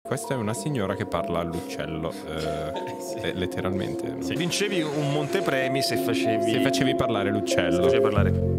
Questa è una signora che parla all'uccello, letteralmente. No? Sì. Vincevi un montepremi se facevi Se facevi parlare l'uccello. facevi parlare.